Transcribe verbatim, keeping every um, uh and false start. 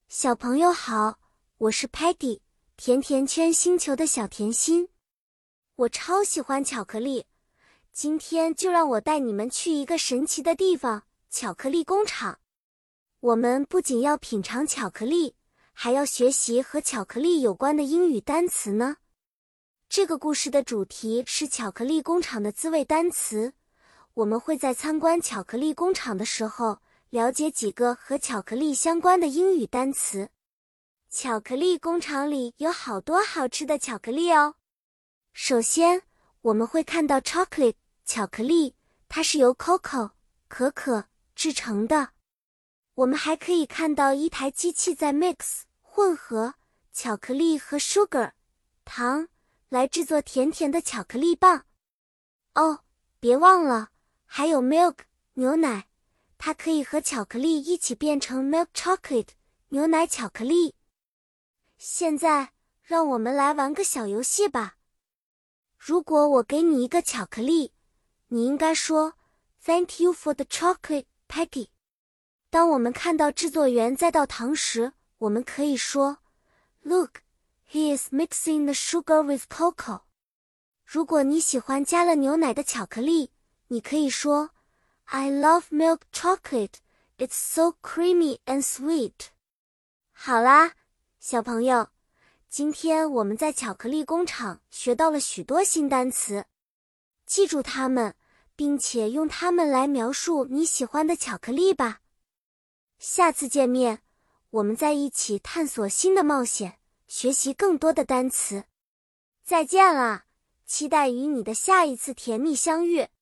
小朋友好，我是 Patty， 甜甜圈星球的小甜心。我超喜欢巧克力，今天就让我带你们去一个神奇的地方——巧克力工厂。我们不仅要品尝巧克力，还要学习和巧克力有关的英语单词呢。这个故事的主题是巧克力工厂的滋味单词。我们会在参观巧克力工厂的时候，了解几个和巧克力相关的英语单词。巧克力工厂里有好多好吃的巧克力哦。首先，我们会看到 chocolate 巧克力，它是由 cocoa 可可制成的。我们还可以看到一台机器在 mix 混合巧克力和 sugar 糖来制作甜甜的巧克力棒。哦，别忘了，还有 milk 牛奶。它可以和巧克力一起变成 milk chocolate 牛奶巧克力。现在，让我们来玩个小游戏吧。如果我给你一个巧克力，你应该说 Thank you for the chocolate, Patty。当我们看到制作员在倒糖时，我们可以说 Look, he is mixing the sugar with cocoa。如果你喜欢加了牛奶的巧克力，你可以说I love milk chocolate. It's so creamy and sweet. 好啦，小朋友，今天我们在巧克力工厂学到了许多新单词，记住它们，并且用它们来描述你喜欢的巧克力吧。下次见面，我们再一起探索新的冒险，学习更多的单词。再见啦，期待与你的下一次甜蜜相遇。